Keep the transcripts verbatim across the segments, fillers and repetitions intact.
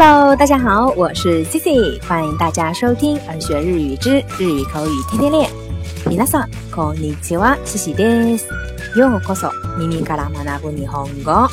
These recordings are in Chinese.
Hello， 大家好，我是 Cici， 欢迎大家收听儿学日语之日语口语天天练。皆さんこんにちは、Ciciです。ようこそ耳から学ぶ日本語。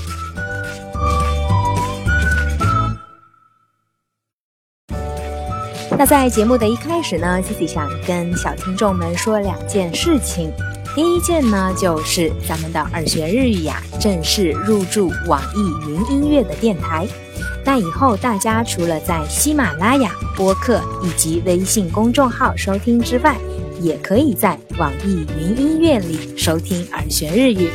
那在节目的一开始呢 Cici 想跟小听众们说两件事情。第一件呢，就是咱们的儿学日语呀，正式入驻网易云音乐的电台。那以后大家除了在喜马拉雅、播客以及微信公众号收听之外，也可以在网易云音乐里收听儿学日语。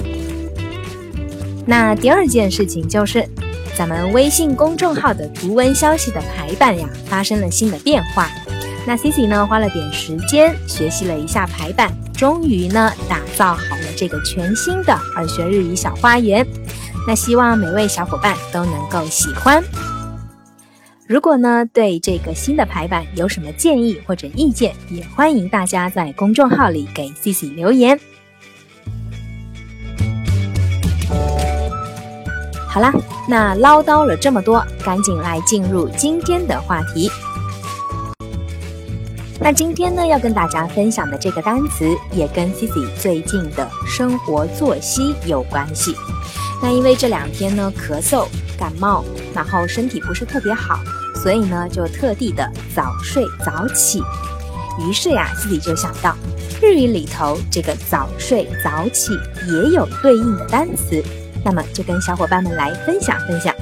那第二件事情就是，咱们微信公众号的图文消息的排版呀，发生了新的变化。那 Cici 呢，花了点时间学习了一下排版，终于呢打造好了这个全新的儿学日语小花园。那希望每位小伙伴都能够喜欢。如果呢对这个新的排版有什么建议或者意见，也欢迎大家在公众号里给 Cici 留言。好啦，那唠叨了这么多，赶紧来进入今天的话题。那今天呢，要跟大家分享的这个单词也跟 Cici 最近的生活作息有关系。那因为这两天呢咳嗽、感冒，然后身体不是特别好，所以呢就特地的早睡早起。于是呀 Cici 就想到，日语里头这个早睡早起也有对应的单词，那么就跟小伙伴们来分享分享。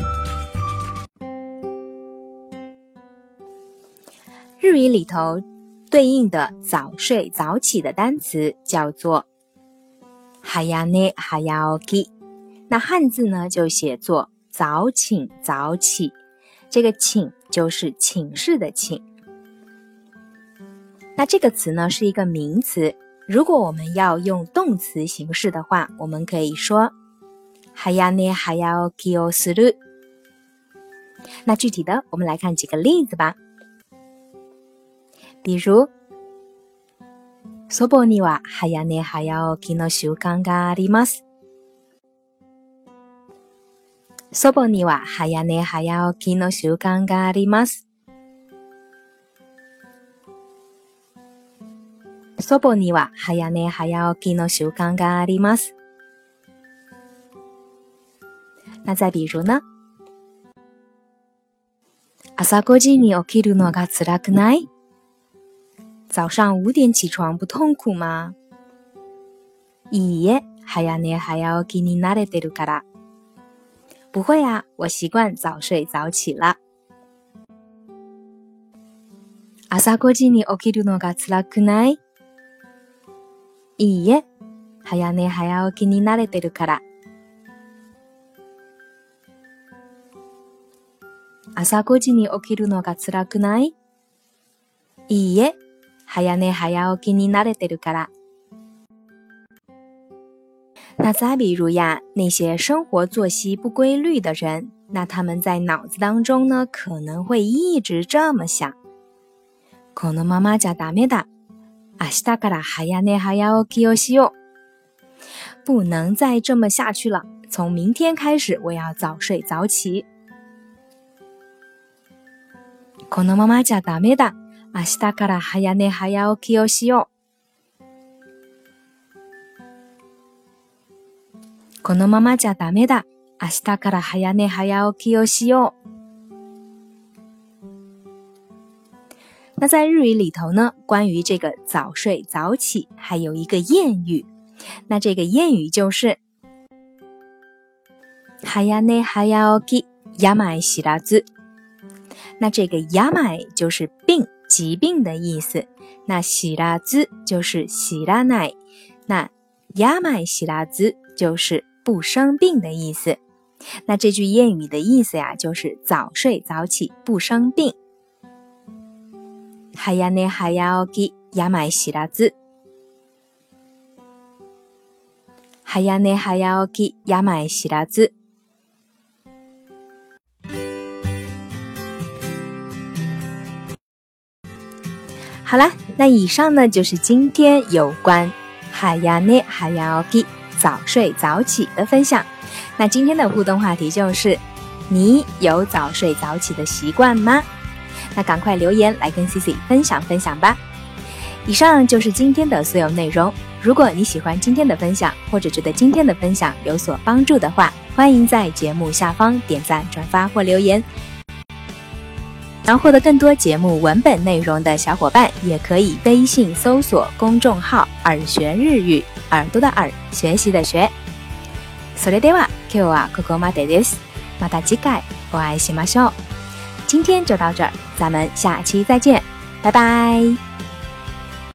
日语里头对应的早睡早起的单词叫做早寝早起，那汉字呢就写作早寝早起，这个寝就是寝室的寝。那这个词呢是一个名词，如果我们要用动词形式的话，我们可以说早寝早起をする。那具体的我们来看几个例子吧。比如祖母には早寝早起きの習慣があります。祖母には早寝早起きの習慣があります。祖母には早寝早起きの習慣があります。那再比如呢？朝ごじに起きるのが辛くない？早上五点起床不痛苦吗？いいえ、早寝早起きに慣れてるから。不会啊，我习惯早睡早起了。朝ごじに起きるのが辛くない？いいえ、早寝早起きに慣れてるから。朝ごじに起きるのが辛くない？いいえ、早寝早起きに慣れてるから。那再比如呀，那些生活作息不规律的人，那他们在脑子当中呢，可能会一直这么想：このままじゃダメだ。明日から早寝早起きをしよう。不能再这么下去了，从明天开始我要早睡早起。このままじゃダメだ。明日から早寝早起きをしよう。このままじゃダメだ。明日から早寝早起きをしよう。那在日语里头呢，关于这个早睡早起还有一个谚语，那这个谚语就是早寝早起病知らず。那这个病就是病、疾病的意思，那知らず就是知らない，那病知らず就是不生病的意思。那这句谚语的意思呀，就是早睡早起不生病。早寝早起病知らず。早寝早起病知らず。好啦，那以上呢就是今天有关早寝早起早睡早起的分享。那今天的互动话题就是你有早睡早起的习惯吗？那赶快留言来跟 Cici 分享分享吧。以上就是今天的所有内容。如果你喜欢今天的分享，或者觉得今天的分享有所帮助的话，欢迎在节目下方点赞、转发或留言。想获得更多节目文本内容的小伙伴，也可以微信搜索公众号耳学日语，耳朵的耳，学习的学。それでは今日はここまでです。また次回お会いしましょう。今天就到这儿，咱们下期再见，拜拜。